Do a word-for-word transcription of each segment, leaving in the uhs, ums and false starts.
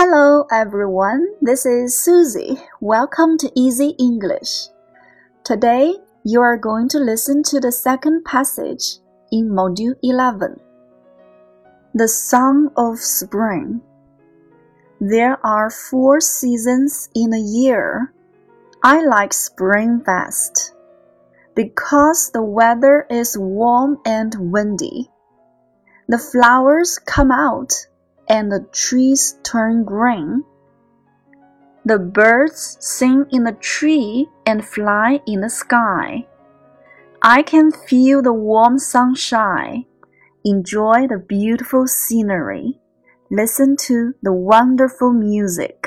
Hello everyone, this is Susie. Welcome to Easy English. Today, you are going to listen to the second passage in Module eleven. The Song of Spring. There are four seasons in a year. I like spring best because the weather is warm and windy. The flowers come out and the trees turn green. The birds sing in the tree and fly in the sky. I can feel the warm sunshine, enjoy the beautiful scenery, listen to the wonderful music.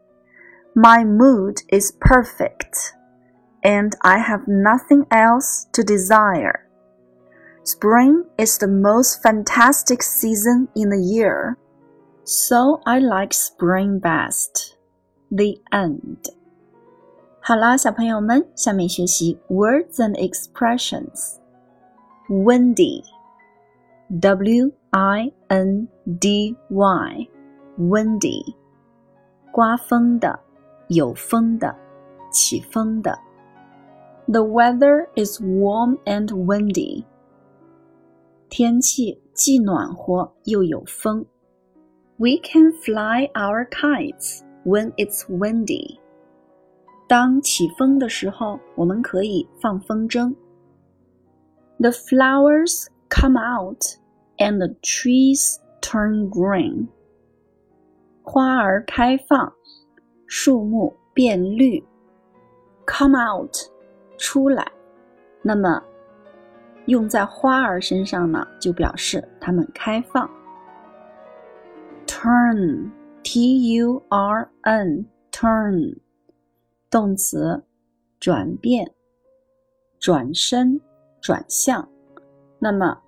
My mood is perfect, and I have nothing else to desire. Spring is the most fantastic season in the year.So I like spring best. The end. 好啦，小朋友们，下面学习 words and expressions. Windy. W I N D Y. Windy. 刮风的，有风的，起风的。The weather is warm and windy. 天气既暖和又有风。We can fly our kites when it's windy. 当起风的时候，我们可以放风筝。The flowers come out and the trees turn green. 花儿开放，树木变绿。Come out, 出来。那么，用在花儿身上呢，就表示它们开放。Turn, T U R N, turn, 动词，转变，转身，转向。那么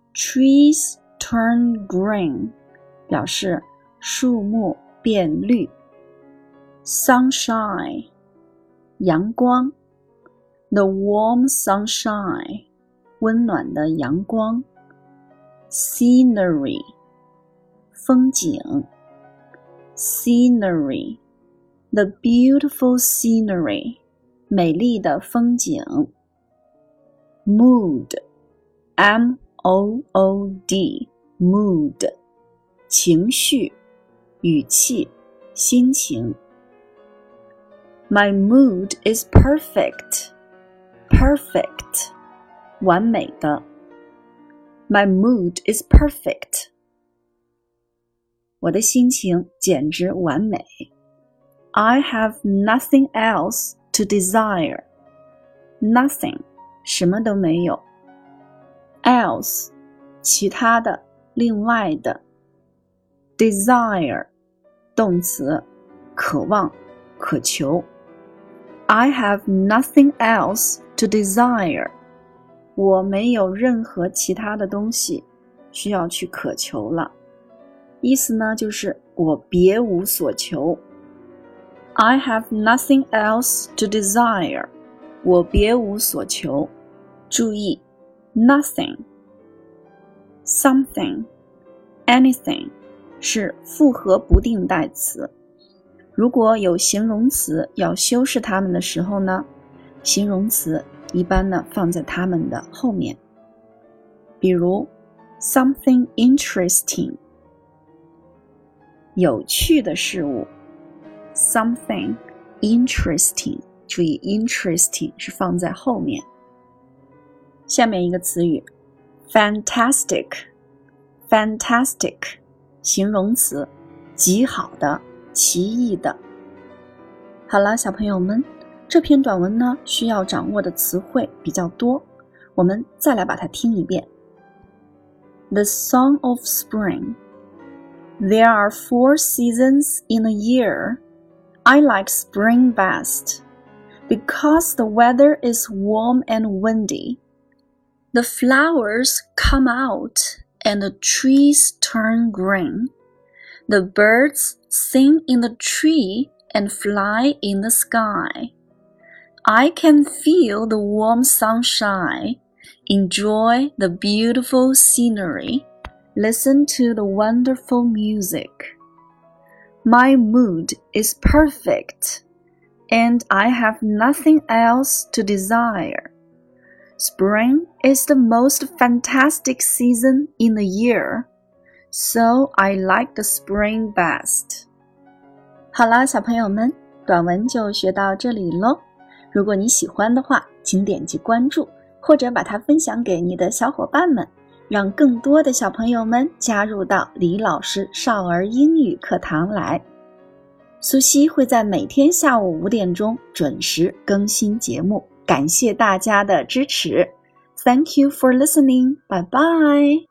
trees turn green 表示树木变绿。Sunshine, 阳光。The warm sunshine, 温暖的阳光。Scenery,风景。Scenery, the beautiful scenery, 美丽的风景。Mood, M O O D, mood, 情绪，语气，心情。My mood is perfect. Perfect, 完美的。My mood is perfect.我的心情简直完美。I have nothing else to desire. Nothing, 什么都没有。Else, 其他的，另外的。Desire, 动词，渴望，渴求。I have nothing else to desire. 我没有任何其他的东西需要去渴求了。意思呢，就是我别无所求。I have nothing else to desire. 我别无所求。注意 nothing, something, anything 是复合不定代词。如果有形容词要修饰它们的时候呢，形容词一般呢放在它们的后面。比如 something interesting,有趣的事物 something interesting 注意 interesting 是放在后面。下面一个词语 fantastic fantastic 形容词，极好的，奇异的。好了，小朋友们，这篇短文呢需要掌握的词汇比较多，我们再来把它听一遍。 The Song of Spring.There are four seasons in a year. I like spring best because the weather is warm and windy. The flowers come out and the trees turn green. The birds sing in the tree and fly in the sky. I can feel the warm sunshine, enjoy the beautiful scenery.Listen to the wonderful music. My mood is perfect, and I have nothing else to desire. Spring is the most fantastic season in the year, so I like the spring best. 好啦，小朋友们，短文就学到这里咯。如果你喜欢的话，请点击关注，或者把它分享给你的小伙伴们，让更多的小朋友们加入到李老师少儿英语课堂来。苏西会在每天下午五点钟准时更新节目，感谢大家的支持。Thank you for listening. Bye bye.